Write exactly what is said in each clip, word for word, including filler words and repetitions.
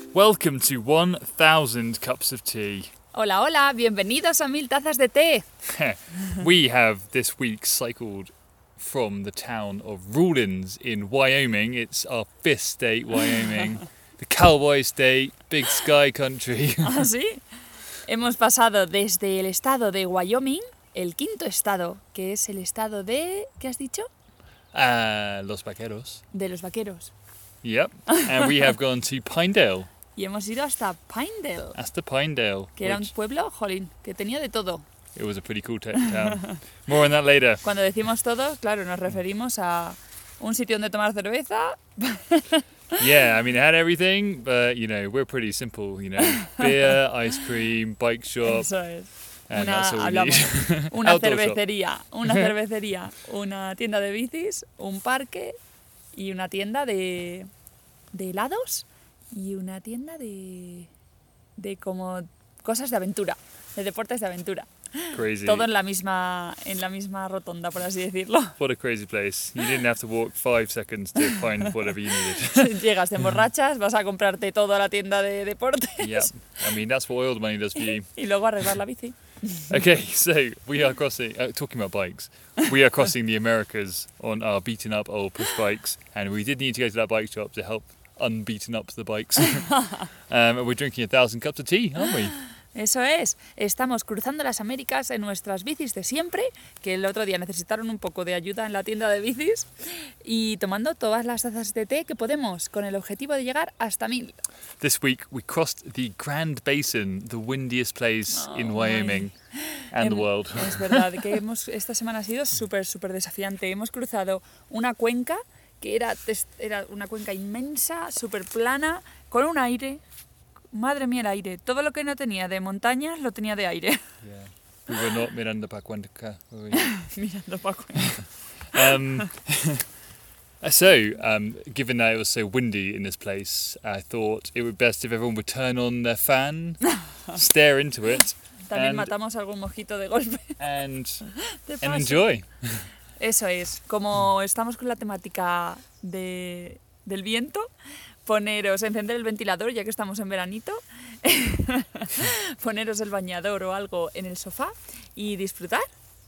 Welcome to one thousand cups of tea. Hola, hola, bienvenidos a Mil Tazas de Té. We have this week cycled from the town of Rawlins in Wyoming. It's our fifth state, Wyoming. The cowboy state, big sky country. ¿Ah, sí? Hemos pasado desde el estado de Wyoming, el quinto estado, que es el estado de... ¿Qué has dicho? Uh, Los Vaqueros. De los vaqueros. Yep. And we have gone to Pinedale. Y hemos ido hasta Pinedale, Hasta Pinedale. que era un which- pueblo, jolín, que tenía de todo. It was a pretty cool t- town. More on that later. Cuando decimos todo, claro, nos referimos a un sitio donde tomar cerveza. Yeah, I mean, it had everything, but, you know, we're pretty simple, you know. Beer, ice cream, bike shop, Eso es. and Una, that's all we hablamos, need. una Outdoor shop. cervecería, una cervecería, una tienda de bicis, un parque y una tienda de, de helados y una tienda de, de como cosas de aventura, de deportes de aventura. Crazy. Todo en la misma en la misma rotonda, por así decirlo. What a crazy place. You didn't have to walk five seconds to find whatever you needed. Llegas, te emborrachas, vas a comprarte toda la tienda de deportes Yeah, I mean, that's what oil money does for you. y luego arreglar la bici. Okay, so we are crossing, uh, talking about bikes, we are crossing the Americas on our beaten up old push bikes, and we did need to go to that bike shop to help unbeaten up the bikes. um, and we're drinking a thousand cups of tea, aren't we? Eso es, estamos cruzando las Américas en nuestras bicis de siempre, que el otro día necesitaron un poco de ayuda en la tienda de bicis, y tomando todas las tazas de té que podemos, con el objetivo de llegar hasta mil. This week we crossed the Grand Basin, the windiest place in Oh, Wyoming and the Hem- world. Es verdad que hemos, esta semana ha sido súper, súper desafiante. Hemos cruzado una cuenca que era, tes- era una cuenca inmensa, súper plana, con un aire. Madre mía, el aire. Todo lo que no tenía de montañas lo tenía de aire. Yeah. We were not Miranda Pacuanca, were we? Mirando para cuenca. Um, so, um, given that it was so windy in this place, I thought it would be best if everyone would turn on their fan, stare into it, También And- matamos algún mosquito de golpe. and De and paso. enjoy. Eso es, como estamos con la temática de, del viento, poneros, encender el ventilador ya que estamos en veranito, poneros el bañador o algo en el sofá y disfrutar.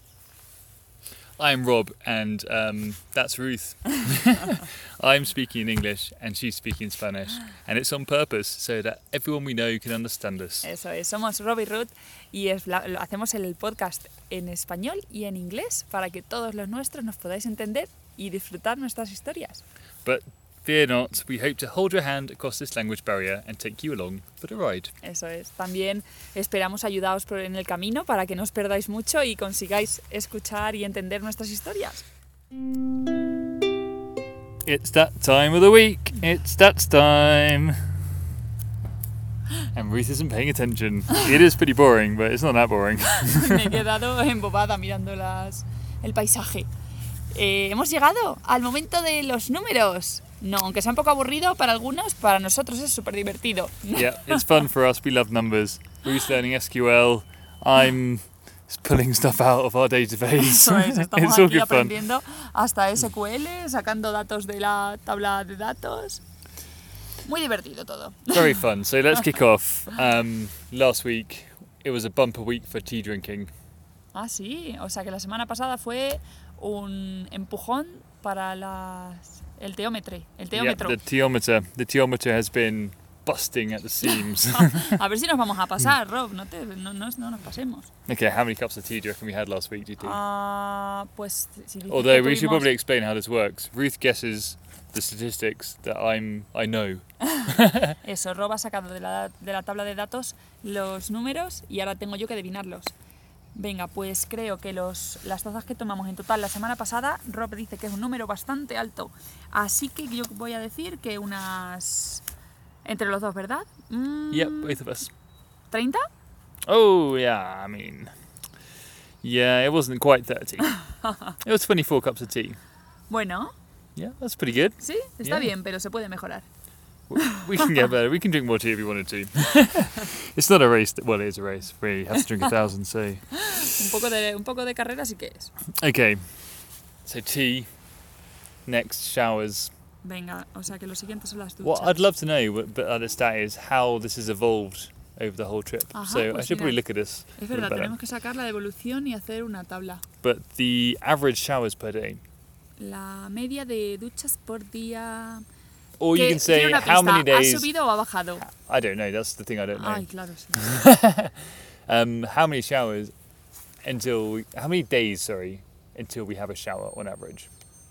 I'm Rob, and um, that's Ruth. I'm speaking in English, and she's speaking Spanish, and it's on purpose so that everyone we know can understand us. Eso es, somos Rob y Ruth y es la- lo- hacemos el podcast en español y en inglés para que todos los nuestros nos podáis entender y disfrutar nuestras historias. But fear not, we hope to hold your hand across this language barrier and take you along for the ride. Eso es. También esperamos ayudaros por en el camino para que no os perdáis mucho y consigáis escuchar y entender nuestras historias. It's that time of the week. It's that time. And Ruth isn't paying attention. It is pretty boring, but it's not that boring. Me he quedado embobada mirando las, el paisaje. Eh, hemos llegado al momento de los números. No, aunque sea un poco aburrido para algunos, para nosotros es súper divertido. Yeah, it's fun for us. We love numbers. Ruth's learning S Q L. I'm pulling stuff out of our database. Eso es, estamos It's all aquí good fun. aprendiendo hasta S Q L, sacando datos de la tabla de datos. Muy divertido todo. Very fun. So let's kick off. Um, last week, it was a bumper week for tea drinking. Ah, sí, o sea que la semana pasada fue un empujón para las, el teómetro. El Yeah, teómetro. the teometer. The teometer has been busting at the seams. A ver si nos vamos a pasar, Rob, no, te, no, no, no nos pasemos. Okay, how many cups of tea do you reckon we had last week, do you think? Ah, pues si dices Although que we should tuvimos- probably explain how this works. Ruth guesses the statistics that I'm I know. Eso, Rob ha sacado de la, de la tabla de datos los números y ahora tengo yo que adivinarlos. Venga, pues creo que los, las tazas que tomamos en total la semana pasada, Rob dice que es un número bastante alto. Así que yo voy a decir que unas... Entre los dos, ¿verdad? Mm, Yep, both of us. ¿treinta? Oh yeah, I mean, yeah, it wasn't quite thirty. It was twenty-four cups of tea. Bueno, Yeah, that's pretty good. sí, está Yeah. bien, pero se puede mejorar. We can get better. We can drink more tea if we wanted to. It's not a race. Well, it is a race. We have to drink a thousand, so. Un poco de, un poco de carrera sí que es. Okay, so tea, next showers, Venga, o sea que lo siguiente son las duchas. What I'd love to know, but but at the start, is how this has evolved over the whole trip. Ajá, so I pues should probably mira, look at this. Es a little verdad, better. tenemos que sacar la devolución y hacer una tabla. But the average showers per day, La media de duchas por día... or you Que- can say tiene una how many pista, days. ¿Ha subido o ha bajado? I don't know. That's the thing I don't know. Ay, claro, sí. Um, how many showers until we, how many days? Sorry, until we have a shower on average.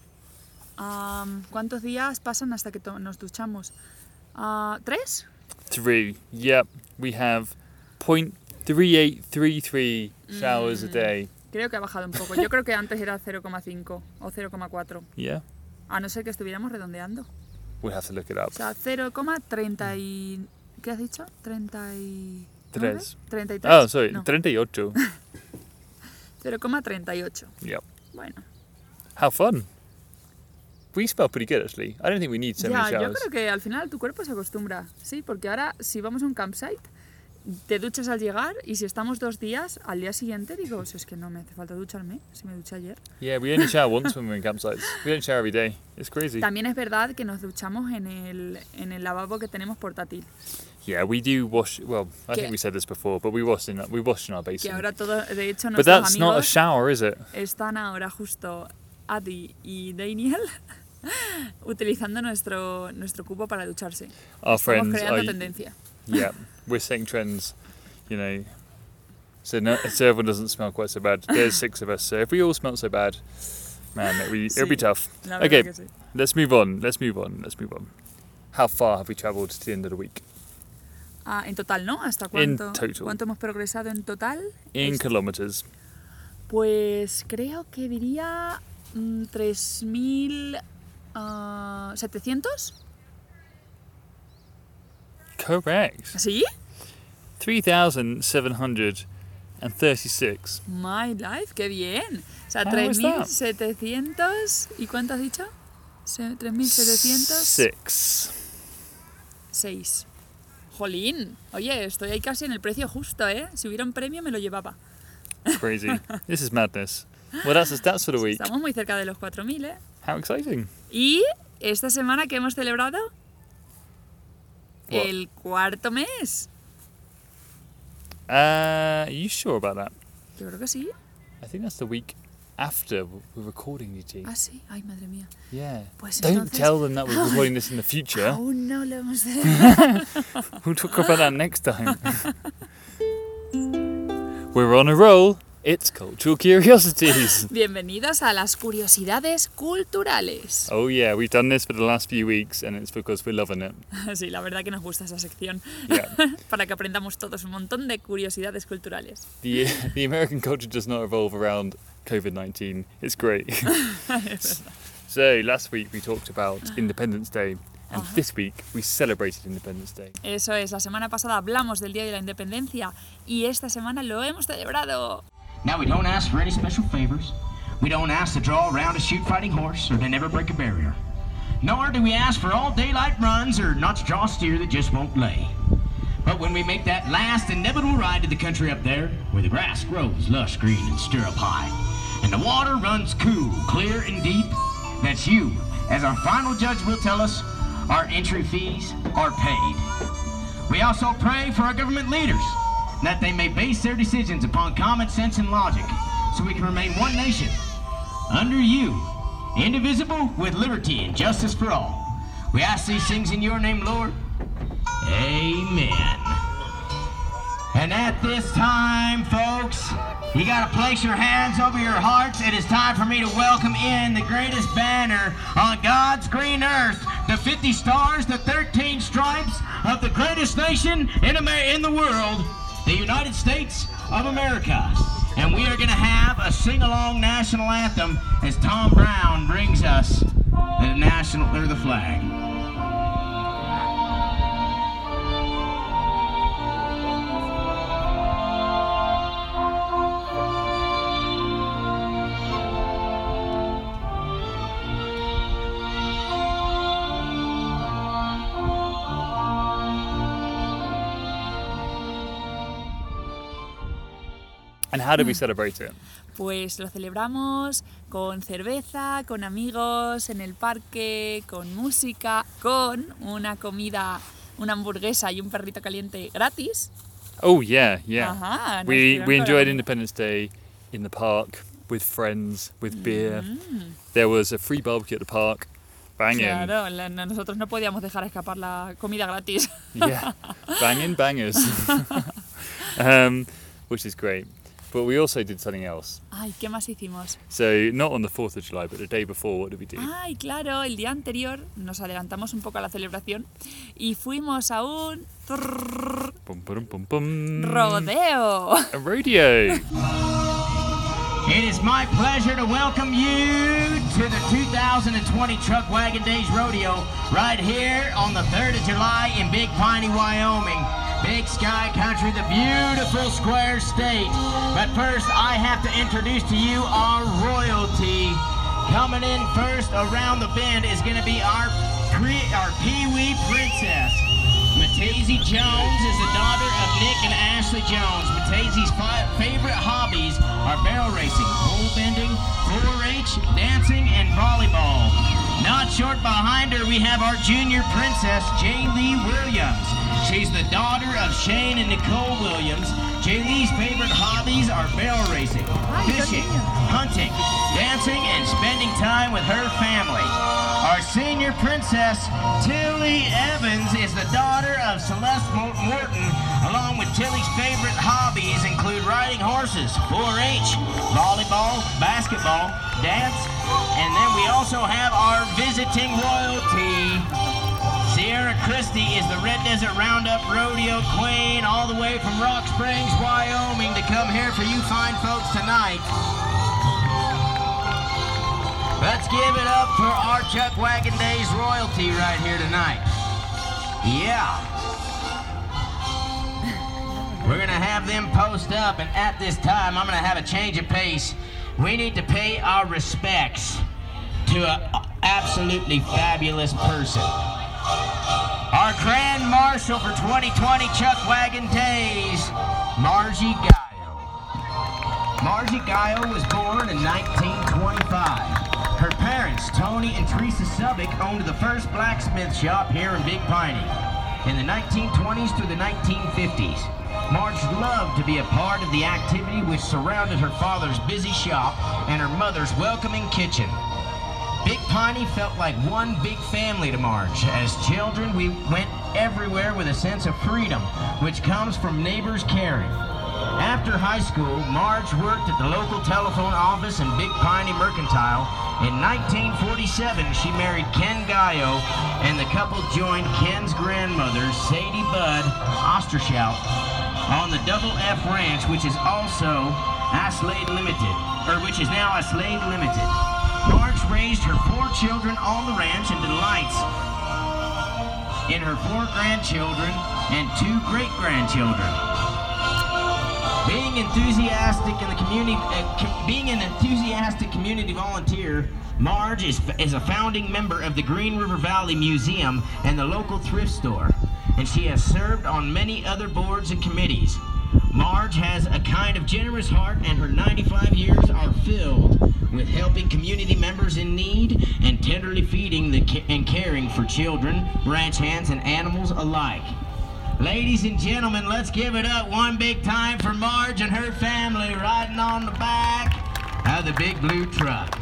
Am, ¿Cuántos días pasan hasta que to- nos duchamos? Ah, ¿Tres? Three. Yep, we have point three eight three three showers a Mm. day. Creo que ha bajado un poco. Yo creo que antes era cero coma cinco o cero coma cuatro. Yeah, A no ser que estuviéramos redondeando. we'll have to look it up. O sea, cero coma treinta y... ¿Qué has dicho? treinta y... Tres. treinta y tres. Oh, sorry, No, thirty-eight. cero coma treinta y ocho. Yep. Bueno. How fun. We smell pretty good actually. I don't think we need so Ya, many yo showers. creo que al final tu cuerpo se acostumbra. Sí, porque ahora si vamos a un campsite, te duchas al llegar y si estamos dos días, al día siguiente digo, si es que no me hace falta ducharme, si me duché ayer. Yeah, we only shower once when we're in campsites. We don't shower every day. It's crazy. También es verdad que nos duchamos en el, en el lavabo que tenemos portátil. Yeah, we do wash. Well, I Que- think we said this before, but we wash in we wash in our Que basin. ahora todo, de hecho, But nuestros that's not a amigos shower, is it? están ahora justo Adi y Daniel utilizando nuestro, nuestro cubo para ducharse. Our Estamos friends creando are. tendencia. Yeah, we're setting trends, you know. So no, so everyone doesn't smell quite so bad. There's six of us, so if we all smell so bad, man, it'll be, it'll be Sí. tough. La verdad Okay, que sí. let's move on. Let's move on. Let's move on. How far have we travelled to the end of the week? Ah, en total, ¿no? ¿Hasta In cuánto, total. cuánto hemos progresado en total? In Es- kilometers. Pues creo que diría mm, tres mil setecientos. Correct. ¿Sí? Three thousand seven hundred and thirty-six. My life, qué bien. O sea, How tres is mil that? setecientos. ¿Y cuánto has dicho? Se- tres mil setecientos Six. seis. Jolín. Oye, estoy ahí casi en el precio justo, ¿eh? Si hubiera un premio me lo llevaba. Crazy. This is madness. Well, that's the stats for the week. Estamos muy cerca de los cuatro mil, ¿eh? How exciting. Y esta semana que hemos celebrado What? el cuarto mes. Uh, are you sure about that? Yo creo que sí. I think that's the week after we're recording, E T. Ah, sí. Ay, madre mía. Yeah. Pues Don't entonces- tell them that we're recording this in the future. Aún no lo hemos celebrado. We'll talk about that next time. We're on a roll. It's cultural curiosities. Bienvenidos a las curiosidades culturales. Oh yeah, we've done this for the last few weeks, and it's because we're loving it. Sí, la verdad que nos gusta esa sección. Yeah. Para que aprendamos todos un montón de curiosidades culturales. The the American culture does not revolve around COVID nineteen. It's great. So last week we talked about Independence Day, and Uh-huh. this week we celebrated Independence Day. Eso es, la semana pasada hablamos del Día de la Independencia y esta semana lo hemos celebrado. Now, we don't ask for any special favors. We don't ask to draw around a shoot fighting horse or to never break a barrier. Nor do we ask for all daylight runs or not to draw a steer that just won't lay. But when we make that last inevitable ride to the country up there, where the grass grows lush green and stirrup high, and the water runs cool, clear and deep, that's you, as our final judge will tell us, our entry fees are paid. We also pray for our government leaders, that they may base their decisions upon common sense and logic, so we can remain one nation, under you, indivisible, with liberty and justice for all. We ask these things in your name, Lord. Amen. And at this time, folks, you gotta place your hands over your hearts. It is time for me to welcome in the greatest banner on God's green earth, the fifty stars, the thirteen stripes of the greatest nation in, Amer- in the world, the United States of America. And we are going to have a sing-along national anthem as Tom Brown brings us the national or the flag. And how did we celebrate it? Pues lo celebramos con cerveza, con amigos, en el parque, con música, con una comida, una hamburguesa y un perrito caliente gratis. Oh yeah, yeah. Ajá, nos we dieron we enjoyed para- Independence Day in the park with friends, with beer. There was a free barbecue at the park. Banging. Claro, la- no- nosotros no podíamos dejar escapar la comida gratis. Yeah, banging bangers. um, which is great. But we also did something else. Ay, ¿qué más hicimos? So not on the fourth of July, but the day before, what did we do? Ay, claro, el día anterior nos adelantamos un poco a la celebración y fuimos a un trrr, Bum, bum, bum, bum. rodeo. A rodeo. It is my pleasure to welcome you to the two thousand twenty Truck Wagon Days Rodeo right here on the third of July in Big Piney, Wyoming. Big Sky Country, the beautiful square state. But first, I have to introduce to you our royalty. Coming in first around the bend is going to be our, pre- our Pee-wee Princess. Mataisie Jones is the daughter of Nick and Ashley Jones. Mataisie's fi- favorite hobbies are barrel racing, pole bending, four H, dancing, and volleyball. Not short behind her, we have our junior princess, Jaylee Williams. She's the daughter of Shane and Nicole Williams. Jaylee's favorite hobbies are barrel racing, fishing, hunting, dancing, and spending time with her family. Our senior princess, Tilly Evans, is the daughter of Celeste Mo- Morton, along with Tilly's favorite hobbies include riding horses, four H, volleyball, basketball, dance, and then we also have our visiting royalty. Sierra Christie is the Red Desert Roundup Rodeo Queen, all the way from Rock Springs, Wyoming, to come here for you fine folks tonight. Let's give it up for our Chuck Wagon Days royalty right here tonight. Yeah. We're going to have them post up, and at this time, I'm going to have a change of pace. We need to pay our respects to an absolutely fabulous person. Our Grand Marshal for twenty twenty Chuck Wagon Days, Margie Gaio. Margie Gaio was born in nineteen twenty-five. Her parents, Tony and Teresa Subbick, owned the first blacksmith shop here in Big Piney. In the nineteen twenties through the nineteen fifties, Marge loved to be a part of the activity which surrounded her father's busy shop and her mother's welcoming kitchen. Big Piney felt like one big family to Marge. As children, we went everywhere with a sense of freedom, which comes from neighbors caring. After high school, Marge worked at the local telephone office in Big Piney Mercantile. In nineteen forty-seven, she married Ken Gaio, and the couple joined Ken's grandmother, Sadie Budd Ostershout, on the Double F Ranch, which is also Aslade Limited, or which is now Aslade Limited. Marge raised her four children on the ranch and delights in her four grandchildren and two great-grandchildren. Being enthusiastic in the community, uh, com- being an enthusiastic community volunteer, Marge is, is a founding member of the Green River Valley Museum and the local thrift store, and she has served on many other boards and committees. Marge has a kind of generous heart, and her ninety-five years are filled with helping community members in need and tenderly feeding the ca- and caring for children, ranch hands, and animals alike. Ladies and gentlemen, let's give it up one big time for Marge and her family riding on the back of the big blue truck.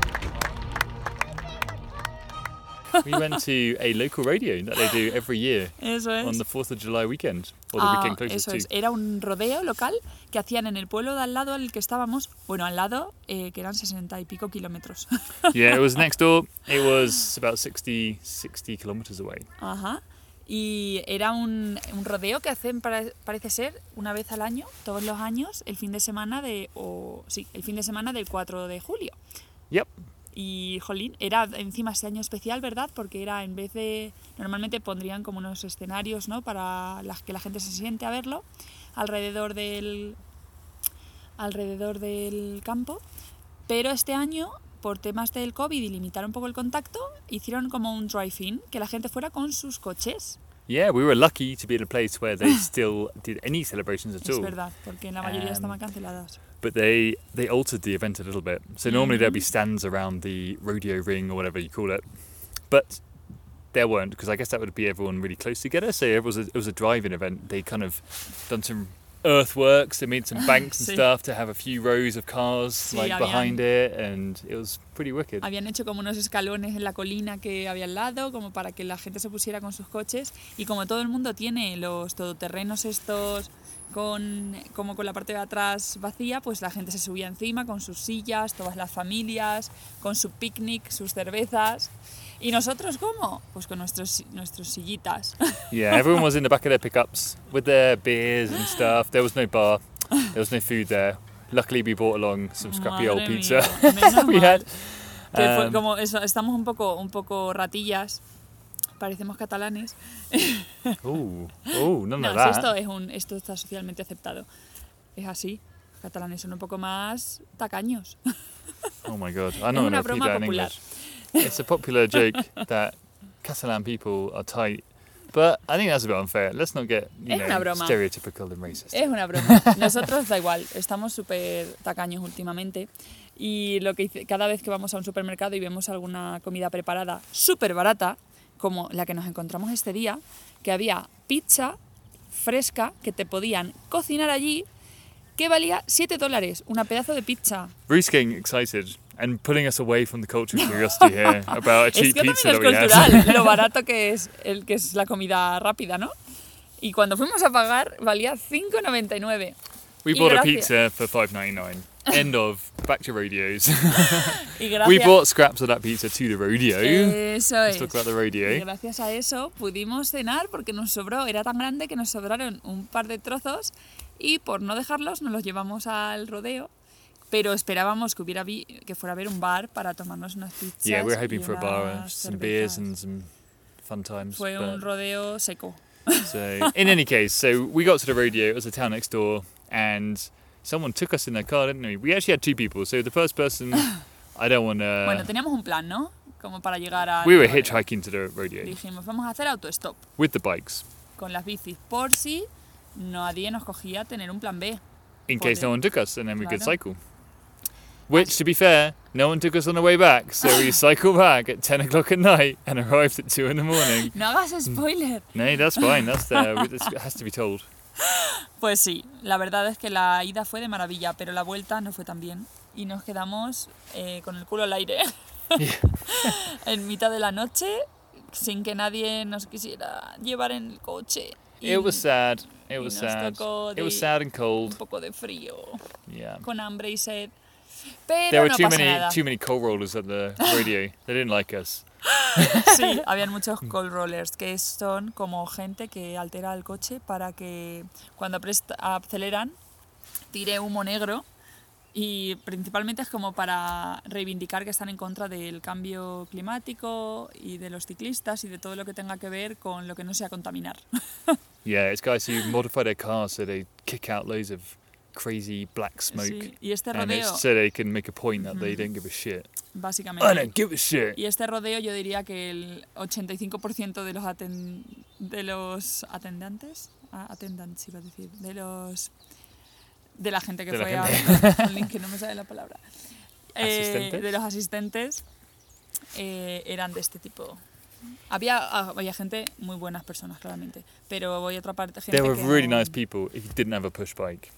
We went to a local rodeo that they do every year Eso es. on the fourth of July weekend, or the Ah, weekend closest eso es. to. Era un rodeo local que hacían en el pueblo de al lado al que estábamos, bueno, al lado, eh, que eran sesenta y pico kilómetros. Yeah, it was next door. It was about sixty, sixty kilometers away. Ajá. Y era un, un rodeo que hacen, pare- parece ser, una vez al año, todos los años, el fin de semana de, o sí, el fin de semana del cuatro de julio. Yep. Y, jolín, era encima este año especial, ¿verdad? Porque era en vez de... Normalmente pondrían como unos escenarios, ¿no? Para la, que la gente se siente a verlo alrededor del, alrededor del campo. Pero este año, por temas del COVID y limitar un poco el contacto, hicieron como un drive-in, que la gente fuera con sus coches. Yeah, we were lucky to be in a place where they still did any celebrations at Es all. verdad, porque la mayoría Um, estaban canceladas. but they they altered the event a little bit. So normally there'd be stands around the rodeo ring or whatever you call it, but there weren't, because I guess that would be everyone really close together. So it was a, it was a drive-in event. They kind of done some earthworks, they made some banks and Sí. stuff to have a few rows of cars Sí, like habían- behind it, and it was pretty wicked. Habían hecho como unos escalones en la colina que había al lado, como para que la gente se pusiera con sus coches. Y como todo el mundo tiene los todoterrenos estos con, como con la parte de atrás vacía, pues la gente se subía encima con sus sillas, todas las familias, con su picnic, sus cervezas. ¿Y nosotros cómo? Pues con nuestros, nuestros sillitas. Yeah, everyone was in the back of their pickups with their beers and stuff. There was no bar, there was no food there. Luckily we brought along some scrappy Madre old pizza mía, menos we mal. had. Que fue Um, como eso, estamos un poco, un poco ratillas, parecemos catalanes. Ooh, ooh, none No, of si that. esto, es un, esto está socialmente aceptado. Es así. Los catalanes son un poco más tacaños. Oh my god, I don't una know if broma that in popular. English. It's a popular joke that Catalan people are tight, but I think that's a bit unfair. Let's not get, you Es know, una broma. stereotypical and racist. Es una broma. Nosotros da igual, estamos súper tacaños últimamente. Y lo que hice, cada vez que vamos a un supermercado y vemos alguna comida preparada súper barata, como la que nos encontramos este día, que había pizza fresca que te podían cocinar allí, que valía siete dólares, una pedazo de pizza. Bruce getting excited and pulling us away from the cultural curiosity here about a Es cheap que pizza también that es we had. cultural, lo barato que es, el, que es la comida rápida, ¿no? Y cuando fuimos a pagar valía cinco noventa y nueve. We Y bought a gracias- pizza for five ninety-nine. End of. Back to rodeos. Y gracias, We brought scraps of that pizza to the rodeo. Eso Let's es. talk about the Y rodeo. gracias a eso pudimos cenar porque nos sobró, era tan grande que nos sobraron un par de trozos y por no dejarlos nos los llevamos al rodeo. Pero esperábamos que hubiera vi- que fuera a haber un bar para tomarnos unas pizzas. Yeah, we're y hoping for a bar, and unas some beers, cervezas. and some fun times. Fue but- un rodeo seco. So, in any case, so we got to the rodeo. It was a town next door, and someone took us in their car, didn't we? We actually had two people. So the first person, I don't want Bueno, to. teníamos un plan, ¿no? Como para llegar a... We were hitchhiking to the rodeo Dijimos, vamos a hacer autostop with the bikes, con las bicis por si nadie nos cogía tener un plan B. in case no one took us, and then we could Claro. cycle. Which, to be fair, no one took us on the way back, so we cycled back at ten o'clock at night and arrived at two in the morning. No hagas spoiler. No, that's fine. That's there. It has to be told. Pues sí, la verdad es que la ida fue de maravilla, pero la vuelta no fue tan bien. Y nos quedamos eh, con el culo al aire en mitad de la noche, sin que nadie nos quisiera llevar en el coche. Y It was sad. It y was nos sad. tocó It was de- sad and un cold. poco de frío, Yeah. con hambre y sed. Pero There were no too pasa many nada. too many coal rollers at the rodeo. They didn't like us. Sí, habían muchos cold rollers, que son como gente que altera el coche para que cuando presta- aceleran tire humo negro, y principalmente es como para reivindicar que están en contra del cambio climático y de los ciclistas y de todo lo que tenga que ver con lo que no sea contaminar. Yeah, it's guys who modify their cars so they kick out loads of crazy black smoke, Sí, y este and rodeo, it's so they can make a point that they don't give a shit. I básicamente... don't give a shit. Y este rodeo yo diría que el ochenta y cinco por ciento de los, aten- de los atendantes, ah, attendants iba a decir, de los de la gente que De la fue a gente. al link, que no me sale la palabra, Eh, ¿Asistentes? de los asistentes eh, eran de este tipo. Había, ah, había gente, muy buenas personas claramente, pero hay otra parte gente They were que really no- nice people if you didn't have a push bike.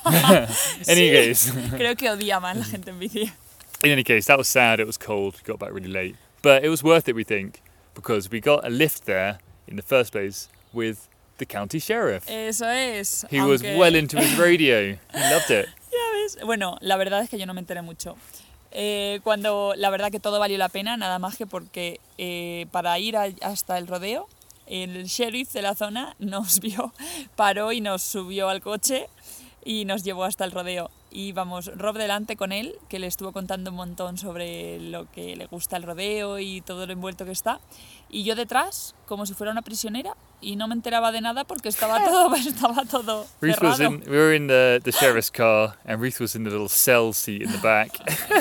In any case, Creo que odiaban la gente en bici. in any case, that was sad. It was cold. We got back really late, but it was worth it, we think, because we got a lift there in the first place with the county sheriff. Eso es. He was aunque- well into his radio. He loved it. Ya ves. Bueno, la verdad es que yo no me enteré mucho. Eh, cuando la verdad que todo valió la pena, nada más que porque eh, para ir a- hasta el rodeo, el sheriff de la zona nos vio, paró y nos subió al coche y nos llevó hasta el rodeo. Y vamos, Rob delante con él, que le estuvo contando un montón sobre lo que le gusta el rodeo y todo lo envuelto que está. Y yo detrás, como si fuera una prisionera, y no me enteraba de nada porque estaba todo, estaba todo Ruth was cerrado. in. We were in the the sheriff's car, and Ruth was in the little cell seat in the back,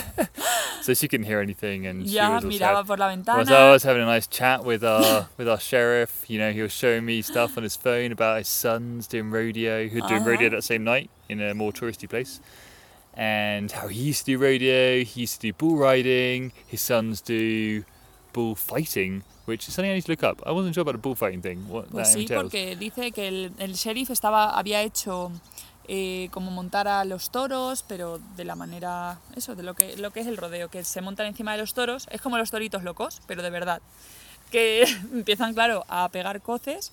so she couldn't hear anything, and she Ya was all miraba sad. por la Was, ventana. I was having a nice chat with our with our sheriff. You know, he was showing me stuff on his phone about his sons doing rodeo, who were doing rodeo Uh-huh. that same night in a more touristy place. and how he used to do rodeo, he used to do bull riding, his sons do bullfighting, which is something I need to look up. I wasn't sure about the bullfighting thing, what Pues that sí, entails. porque dice que el, el sheriff estaba, había hecho eh, como montar a los toros, pero de la manera, eso, de lo que, lo que es el rodeo, que se montan encima de los toros, es como los toritos locos, pero de verdad, que empiezan, claro, a pegar coces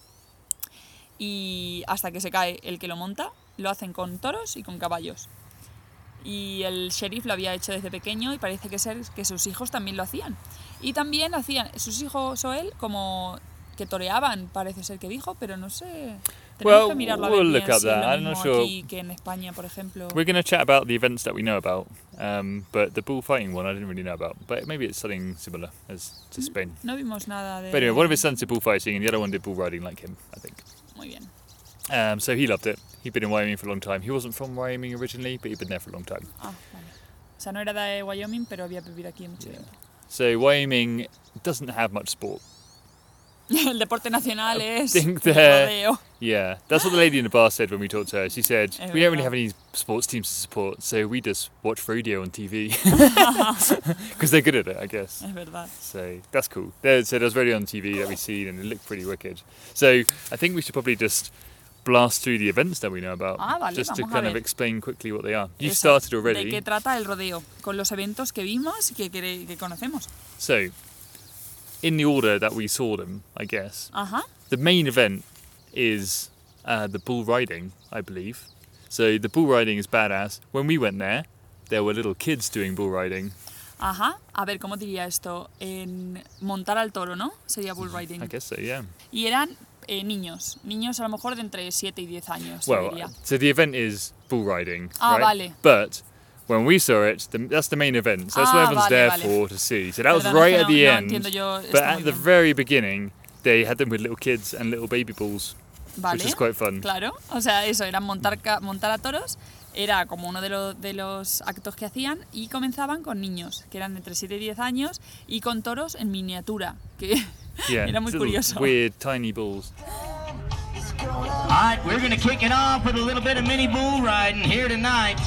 y hasta que se cae el que lo monta, lo hacen con toros y con caballos. Y el sheriff lo había hecho desde pequeño y parece que ser que sus hijos también lo hacían. Y también hacían sus hijos o él como que toreaban, parece ser que dijo, pero no sé. Tenemos Well, que mirarlo a we'll ver look bien up si es that. lo I'm mismo not sure. aquí que en España, por ejemplo. We're going to chat about the events that we know about, um, but the bullfighting one I didn't really know about. But maybe it's something similar as to Spain. No vimos nada de... But anyway, one of his sons did bullfighting and the other one did bull riding like him, I think. Muy bien. Um, so he loved it. He'd been in Wyoming for a long time. He wasn't from Wyoming originally, but he'd been there for a long time. Ah, vale. O sea, no era de Wyoming, pero había vivido aquí mucho Yeah. tiempo. So Wyoming doesn't have much sport. El deporte nacional es think el they're- rodeo. Yeah, that's what the lady in the bar said when we talked to her. She said, Es we don't really verdad. have any sports teams to support, so we just watch rodeo on T V. Because they're good at it, I guess. Es verdad. So that's cool. There, so there's rodeo on T V that we've seen and it looked pretty wicked. So I think we should probably just blast through the events that we know about. Ah, vale, just to vamos a kind of ver. explain quickly what they are. You Eso, started ¿De already. qué trata el rodeo? Con los eventos que vimos y que, que, que conocemos. So, in the order that we saw them, I guess, Ajá. the main event is uh, the bull riding, I believe. So the bull riding is badass. When we went there, there were little kids doing bull riding. Ajá. A ver, ¿cómo diría esto? En montar al toro, ¿no? Sería bull riding. I guess so, yeah. Y eran eh, niños. Niños a lo mejor de entre siete y diez años, yo Well, diría. so the event is bull riding, Ah, right? vale. But when we saw it, the, that's the main event. So that's what Ah, everyone's vale, there vale. for to see. So that was Perdona, right es at que the no- no end. entiendo yo esto But muy at the bien. very beginning, they had them with little kids and little baby bulls, Vale. which is quite fun. Claro, o sea, eso, era montar, ca- montar a toros, era como uno de, lo- de los actos que hacían y comenzaban con niños, que eran de entre siete y diez años, y con toros en miniatura, que Yeah, era muy little curioso. weird tiny bulls. All right, we're going to kick it off with a little bit of mini bull riding here tonight.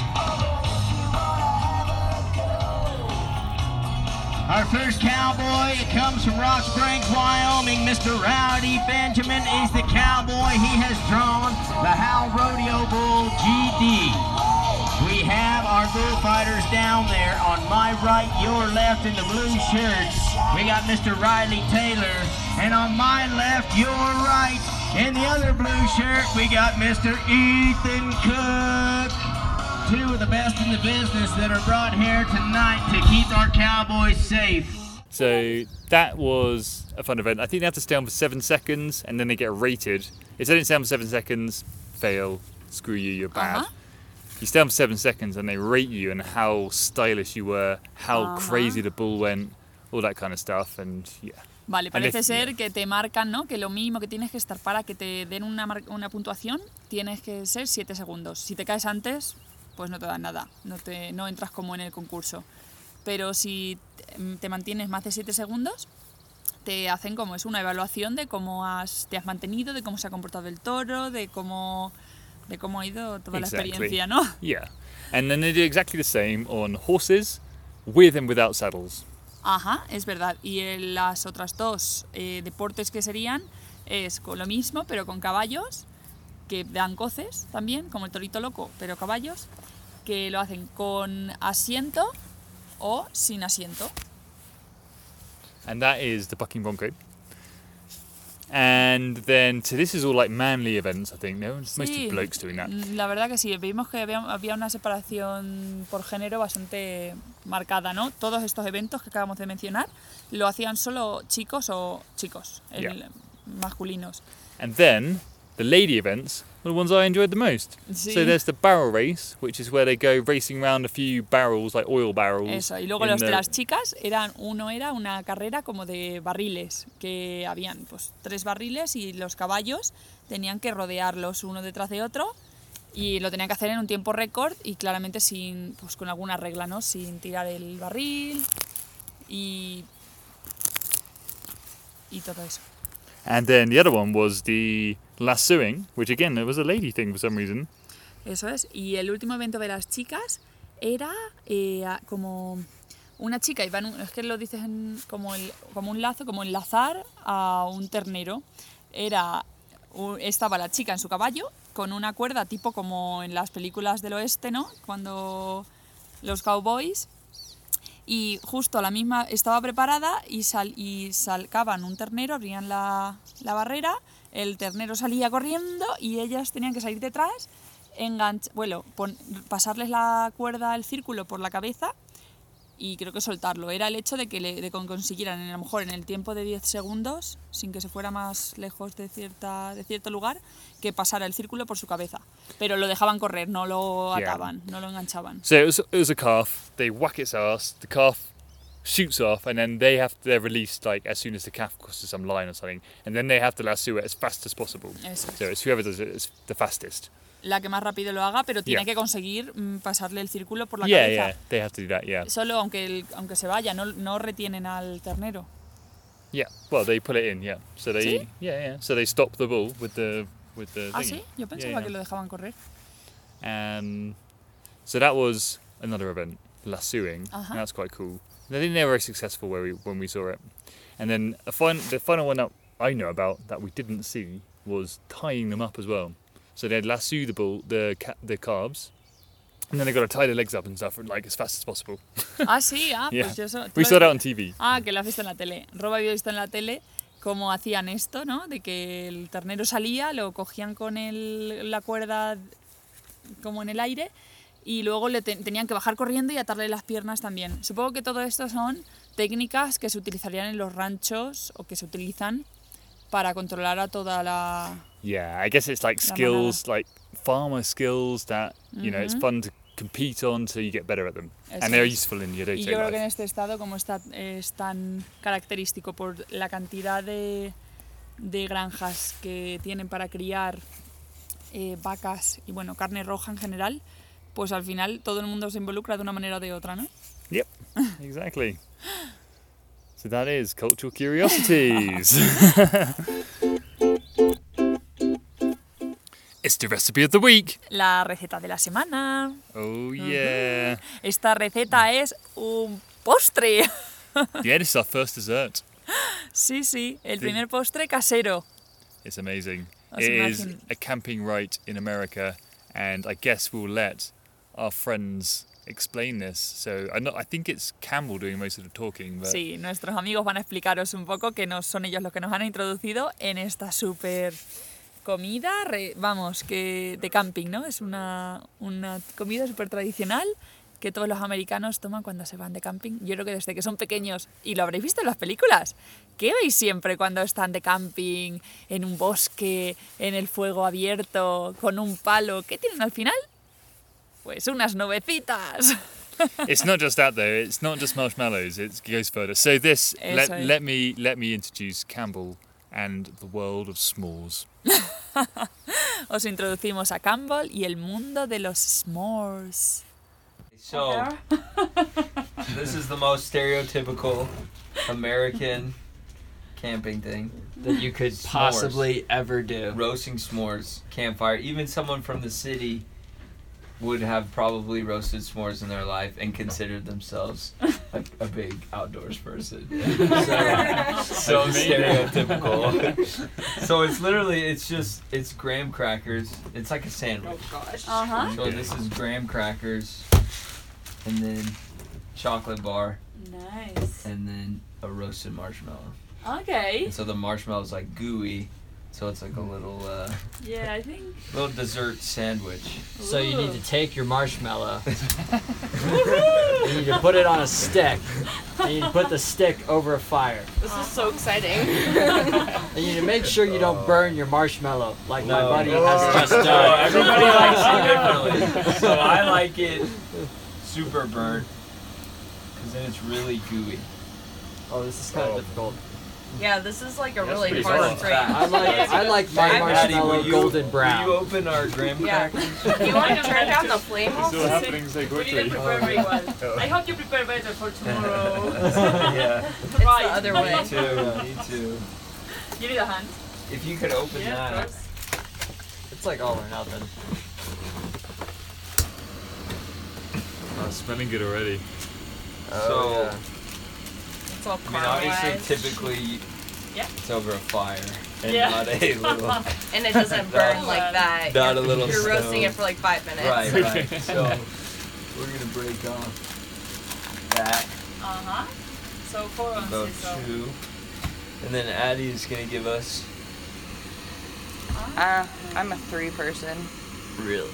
Our first cowboy, it comes from Rock Springs, Wyoming. Mister Rowdy Benjamin is the cowboy. He has drawn the Howell Rodeo Bull G D. We have our bullfighters down there on my right, your left in the blue shirts. We got Mister Riley Taylor. And on my left, your right, in the other blue shirt, we got Mister Ethan Cook. Two of the best in the business that are brought here tonight to keep our cowboys safe. So that was a fun event. I think they have to stay on for seven seconds and then they get rated. If they don't stay on for seven seconds, fail, screw you, you're bad. Ajá. You stay on for seven seconds and they rate you and how stylish you were, how Ajá. crazy the bull went, all that kind of stuff. And yeah. Vale, And parece if- ser que te marcan, ¿no? Que lo mínimo que tienes que estar para que te den una, mar- una puntuación, tienes que ser siete segundos. Si te caes antes, pues no te dan nada, no, te, no entras como en el concurso. Pero si te- te mantienes más de siete segundos, te hacen como es una evaluación de cómo has, te has mantenido, de cómo se ha comportado el toro, de cómo, de cómo ha ido toda Exactly. la experiencia, ¿no? Yeah. And then they do exactly the same on horses, with and without saddles. Ajá, es verdad. Y en las otras dos eh, deportes que serían es con lo mismo, pero con caballos, que dan coces también, como el torito loco, pero caballos, que lo hacen con asiento o sin asiento. And that is the bucking bronco. And then, so this is all like manly events, I think. No, it's mostly Sí, blokes doing that. La verdad que sí, vimos que había, había una separación por género bastante marcada, ¿no? Todos estos eventos que acabamos de mencionar lo hacían solo chicos o chicos, el- Yeah. masculinos. And then the lady events were the ones I enjoyed the most. Sí. So there's the barrel race, which is where they go racing around a few barrels, like oil barrels. Eso, y luego in los de the- las chicas eran, uno era una carrera como de barriles, que habían pues tres barriles y los caballos tenían que rodearlos uno detrás de otro y lo tenían que hacer en un tiempo récord y claramente sin, pues con alguna regla, ¿no? Sin tirar el barril y, y todo eso. And then the other one was the lassoing, which again, it was a lady thing for some reason. Eso es. Y el último evento de las chicas era eh, como una chica, iba en un- es que lo dices en- como, el, como un lazo, como enlazar a un ternero. Era, u- estaba la chica en su caballo con una cuerda tipo como en las películas del oeste, ¿no? Cuando los cowboys, y justo a la misma estaba preparada y, sal, y salcaban un ternero, abrían la, la barrera, el ternero salía corriendo y ellas tenían que salir detrás, enganch, bueno, pon- pasarles la cuerda, el círculo por la cabeza y creo que soltarlo. Era el hecho de que le, de que consiguieran, a lo mejor en el tiempo de diez segundos, sin que se fuera más lejos de, cierta, de cierto lugar, que pasara el círculo por su cabeza. Pero lo dejaban correr, no lo Yeah. ataban, no lo enganchaban. So it was, it was a calf. They whack its ass. The calf shoots off, and then they have they're released like as soon as the calf crosses some line or something, and then they have to lasso it as fast as possible. Eso es. So it's whoever does it is the fastest. La que más rápido lo haga, pero tiene Yeah. que conseguir mm, pasarle el círculo por la Yeah, cabeza. yeah, they have to do that. Yeah, Solo aunque, el- aunque se vaya, no, no retienen al ternero. yeah. Well, they pull it in. Yeah. So they ¿Sí? yeah yeah. So they stop the bull with the with the. ¿Ah, thingy. sí? Yo pensaba Yeah, que yeah. lo dejaban correr. And so that was another event, lassoing. Uh-huh. And that's quite cool. And I think they were very successful where we, when we saw it. And then a fin- the final one that I know about that we didn't see was tying them up as well. So they'd lasso the bull, the ca- the calves, and then they got to tie their legs up and stuff like as fast as possible. Ah, sí, ah, Yeah. pues yo eso... ¿tú We lo- saw that on T V. Ah, que lo has visto en la tele. Rob había visto en la tele cómo hacían esto, ¿no? De que el ternero salía, lo cogían con el, la cuerda como en el aire y luego le te- tenían que bajar corriendo y atarle las piernas también. Supongo que todo esto son técnicas que se utilizarían en los ranchos o que se utilizan para controlar a toda la... Yeah, I guess it's like La skills, like farmer skills that you know it's Mhm. fun to compete on, so you get better at them, Eso and they're es. useful in your Y day-to-day yo creo que en life. este estado, como está, es tan característico por la cantidad de, de granjas que tienen para criar eh, vacas y bueno, carne roja en general, pues al final todo el mundo se involucra de una manera o de otra, ¿no? Yep, exactly. So that is cultural curiosities. It's the recipe of the week. La receta de la semana. Oh yeah. Esta receta es un postre. Yeah, this is our first dessert. Sí, sí, el Sí. primer postre casero. It's amazing. Os It is imagine- a camping rite in America, and I guess we'll let our friends explain this. So I know I think it's Campbell doing most of the talking, but Sí, nuestros amigos van a explicaros un poco que no son ellos los que nos han introducido en esta súper comida, re- vamos, que de camping, ¿no? Es una, una comida súper tradicional que todos los americanos toman cuando se van de camping. Yo creo que desde que son pequeños, y lo habréis visto en las películas, ¿qué veis siempre cuando están de camping, en un bosque, en el fuego abierto, con un palo? ¿Qué tienen al final? Pues unas nubecitas. it's not just that though. It's not just marshmallows. It goes further. So this let, Eso es. let me let me introduce Campbell and the world of s'mores. Os introducimos a Campbell y el mundo de los s'mores. So, this is the most stereotypical American camping thing. that you could S'mores. possibly ever do. Roasting s'mores, campfire. Even someone from the city would have probably roasted s'mores in their life and considered themselves a, a big outdoors person. So, so stereotypical. So it's literally, it's just, it's graham crackers. It's like a sandwich. Ajá. So this is graham crackers, and then chocolate bar, Nice. and then a roasted marshmallow. Okay. And so the marshmallow is like gooey, so it's like a little uh, Yeah, I think. little dessert sandwich. So you need to take your marshmallow. You need to put it on a stick. And you need to put the stick over a fire. This is so exciting. And you need to make sure you don't burn your marshmallow like my No. buddy has just So done. everybody likes it differently. So I like it super burnt, because then it's really gooey. Oh, this is kind of Oh. difficult. Yeah, this is like a That's really pretty hard solid. frame. I like I like my Patty, marshmallow will you, golden Will you brown. open our graham Yeah. crackers? Do you want to turn down the flame It's all also? happening so We quickly. didn't prepare very well. I hope you prepare better for tomorrow. Yeah, It's the other way. me too, me too. Give me the hand. If you could open Yeah, of that. course. It's like all or nothing. Oh, smelling good already. So, yeah. It's all I mean, obviously, caramelized. typically, Yeah. it's over a fire and Yeah. not a little, And it doesn't burn like that. not You're, a little you're roasting stove. it for like five minutes. Right, right. So, we're gonna break off that Ajá. So four about ounces. So. two, and then Addie is gonna give us Uh, I'm a three person. really.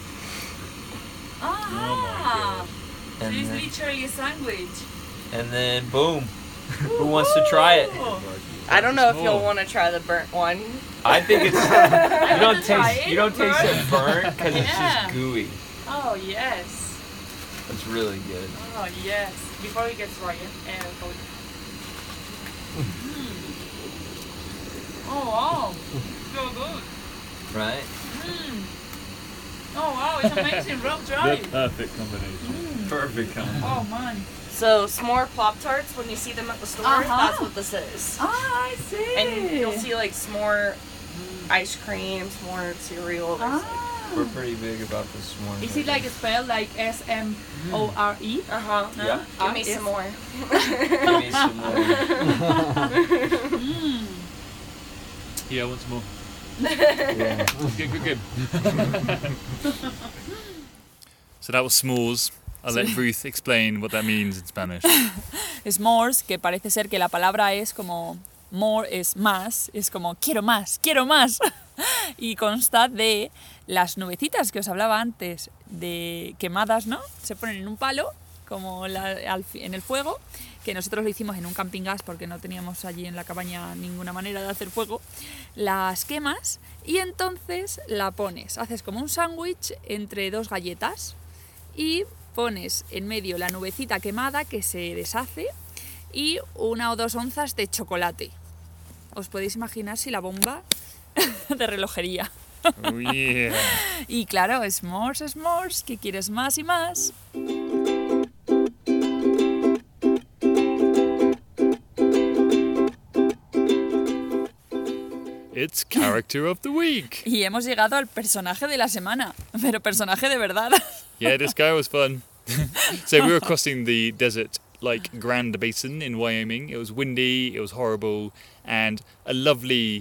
Ah. So And it's then, literally a sandwich. and then boom. Who wants to try it? I don't know if you'll small. want to try the burnt one. I think it's you don't try taste it, you don't taste it burnt. burnt because it's Yeah. just gooey. Oh yes. It's really good. Oh yes. Before it gets rotten. Uh, oh wow. So good. Right? Mm. Oh wow, it's amazing. Rob, try The it. perfect combination. Perfect combination. Oh man. So s'more Pop Tarts, when you see them at the store, Uh-huh. that's what this is. Ah, I see. And you'll see like s'more ice cream, s'more cereal. there's, like- Ah. We're pretty big about this morning. Is it like spelled like S M O R E? Uh-huh. Yeah. Give me Ah, some more. Give me some more. Mm. Yeah, I want some more. Yeah. Good, good, good. So that was s'mores. I'll let Ruth explain what that means in Spanish. S'mores, que parece ser que la palabra es como more es más, es como quiero más, quiero más. Y consta de las nubecitas que os hablaba antes, de quemadas, ¿no? Se ponen en un palo, como la- al fi- en el fuego, que nosotros lo hicimos en un camping gas porque no teníamos allí en la cabaña ninguna manera de hacer fuego. Las quemas y entonces la pones, haces como un sándwich entre dos galletas y pones en medio la nubecita quemada que se deshace y una o dos onzas de chocolate. Os podéis imaginar si la bomba de relojería. Oh yeah. Y claro, s'mores, s'mores, que quieres más y más. It's character of the week. Y hemos llegado al personaje de la semana, pero personaje de verdad. Yeah, this guy was fun. So we were crossing the desert like Grand Basin in Wyoming. It was windy, it was horrible, and a lovely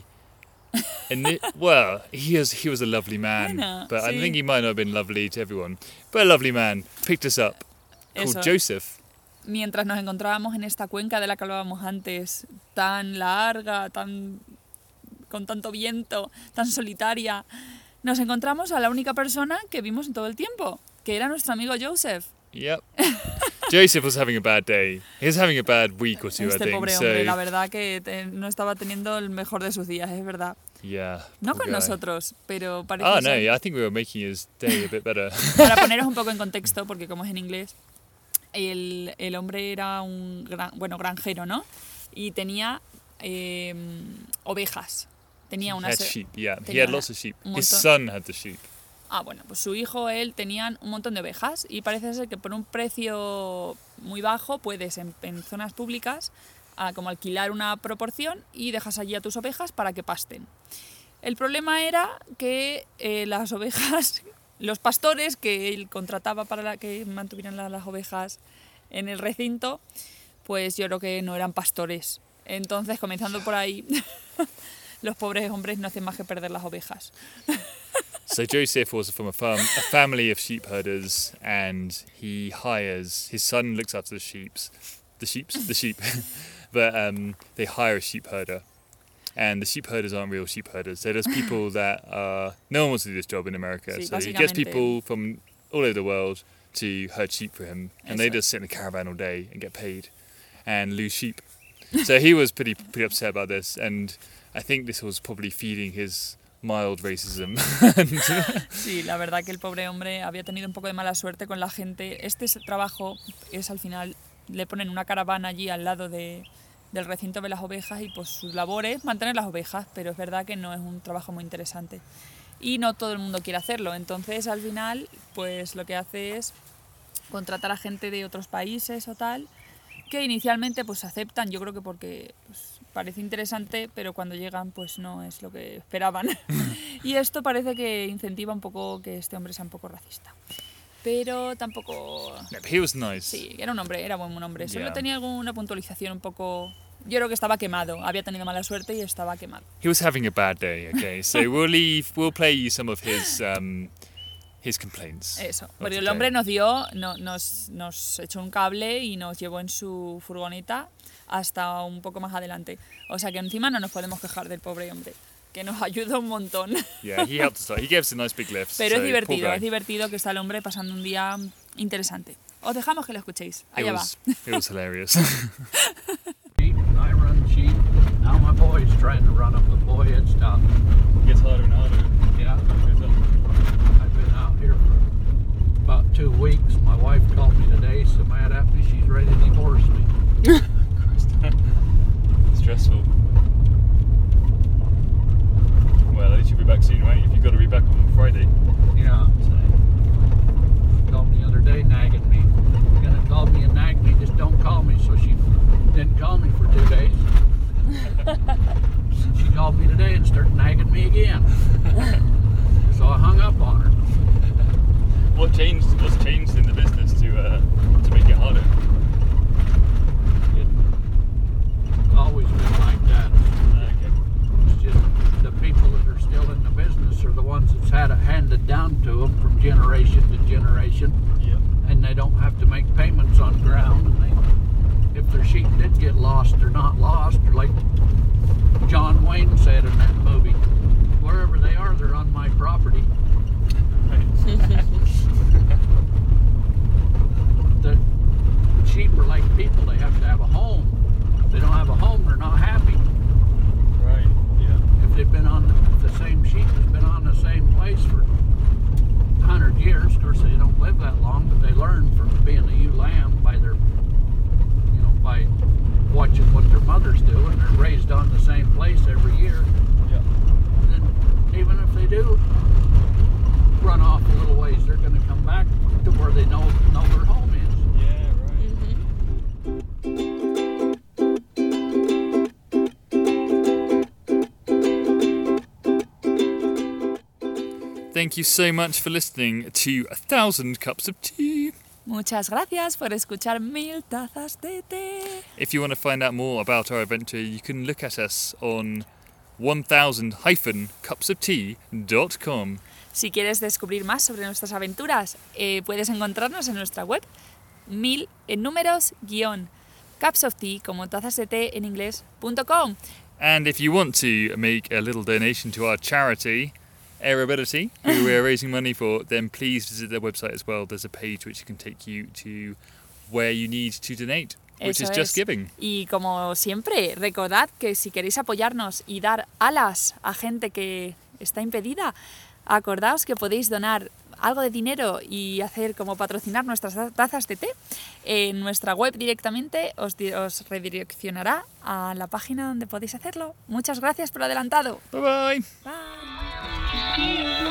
and it, well, he is he was a lovely man, Bueno, but I sí. think he might not have been lovely to everyone. But a lovely man picked us up called Eso. Joseph. Mientras nos encontrábamos en esta cuenca de la que hablábamos antes, tan larga, tan con tanto viento, tan solitaria, nos encontramos a la única persona que vimos en todo el tiempo, que era nuestro amigo Joseph. Yep. Joseph was having a bad day. He was having a bad week or two, I Este think. pobre So hombre, la verdad que te- no estaba teniendo el mejor de sus días, es verdad. yeah. No poor con guy. nosotros, pero parece Oh no, ser- yeah, I think we were making his day a bit better. Para poneros un poco en contexto, porque como es en inglés, el, el hombre era un gran, bueno, granjero, ¿no? Y tenía eh, ovejas. Tenía He unas... had sheep, yeah. He tenía had lots of sheep. un His montón- son had the sheep. Ah, bueno, pues su hijo, él, tenían un montón de ovejas y parece ser que por un precio muy bajo puedes en, en zonas públicas a, como alquilar una proporción y dejas allí a tus ovejas para que pasten. El problema era que eh, las ovejas, los pastores que él contrataba para la, que mantuvieran la- las ovejas en el recinto, pues yo creo que no eran pastores. Entonces, comenzando por ahí, los pobres hombres no hacen más que perder las ovejas. So Joseph was from a farm, a family of sheep herders, and he hires his son looks after the sheep's, the sheep's, the sheep, but um, they hire a sheep herder, and the sheep herders aren't real sheep herders. They're just people that are no one wants to do this job in America. Sí, So he gets básicamente. people from all over the world to herd sheep for him, and they Eso. just sit in a caravan all day and get paid, and lose sheep. So he was pretty pretty upset about this, and I think this was probably feeding his mild racism. And- Sí, la verdad que el pobre hombre había tenido un poco de mala suerte con la gente. Este es- trabajo es al final, le ponen una caravana allí al lado de, del recinto de las ovejas y pues su labor es mantener las ovejas, pero es verdad que no es un trabajo muy interesante. Y no todo el mundo quiere hacerlo, entonces al final pues lo que hace es contratar a gente de otros países o tal, que inicialmente pues aceptan, yo creo que porque pues, parece interesante, pero cuando llegan pues no es lo que esperaban. Y esto parece que incentiva un poco que este hombre sea un poco racista. pero tampoco... No, but he was nice. Sí, era un hombre, era buen hombre. Solo Yeah. tenía alguna puntualización un poco... Yo creo que estaba quemado, había tenido mala suerte y estaba quemado. He was having a bad day, okay? So we'll leave, we'll play you some of his um, his complaints. Eso, of porque the el hombre day. nos dio, no, nos, nos echó un cable y nos llevó en su furgoneta hasta un poco más adelante. O sea que encima no nos podemos quejar del pobre hombre, que nos ayuda un montón. Yeah, he helped us out. He gave us a nice big lift. Pero so es divertido, poor es guy. divertido que está el hombre pasando un día interesante. Os dejamos que lo escuchéis. It Allá va. was, it was hilarious. sheep, and I run sheep. Now my boy's trying to run them, but boy, it's tough. Gets harder and harder. Yeah, I've been out here for about two weeks. My wife called me today, so mad at me, she's ready to divorce me. Stressful. Well, at least you'll be back soon, right? If you've got to be back on Friday. Yeah. She called me the other day, nagging me. You're gonna call me and nag me, just don't call me. So she didn't call me for two days. She called me today and started nagging me again. So I hung up on her. What changed? What's changed in the business to uh, to make it harder? It's always been like that. Okay. It's just the people that are still in the business are the ones that's had it handed down to them from generation to generation, Yeah. and they don't have to make payments on ground. And they, if their sheep did get lost, they're not lost. Or like John Wayne said in that movie, wherever they are, they're on my property. The sheep are like people; they have to have a home. If they don't have a home, they're not happy. Right. Yeah. If they've been on the, if the same sheep has been on the same place for a hundred years, of course they don't live that long, but they learn from being a ewe lamb by their, you know, by watching what their mothers do, and they're raised on the same place every year. Yeah. And even if they do run off a little ways, they're going to come back to where they know know their home is. Yeah. Right. Thank you so much for listening to A Thousand Cups of Tea. Muchas gracias por escuchar Mil Tazas de Té. If you want to find out more about our adventure, you can look at us on one thousand cups of tea dot com. Si quieres descubrir más sobre nuestras aventuras, eh, puedes encontrarnos en nuestra web, mil en números, guión, cups of tea, como tazas de té en inglés, punto com. And if you want to make a little donation to our charity, Airability, who we're raising money for, then please visit their website as well. There's a page which can take you to where you need to donate, which Eso is Just es. Giving. Y como siempre, recordad que si queréis apoyarnos y dar alas a gente que está impedida, acordaos que podéis donar algo de dinero y hacer como patrocinar nuestras tazas de té. En nuestra web directamente os, di- os redireccionará a la página donde podéis hacerlo. Muchas gracias por adelantado. Bye bye. Bye.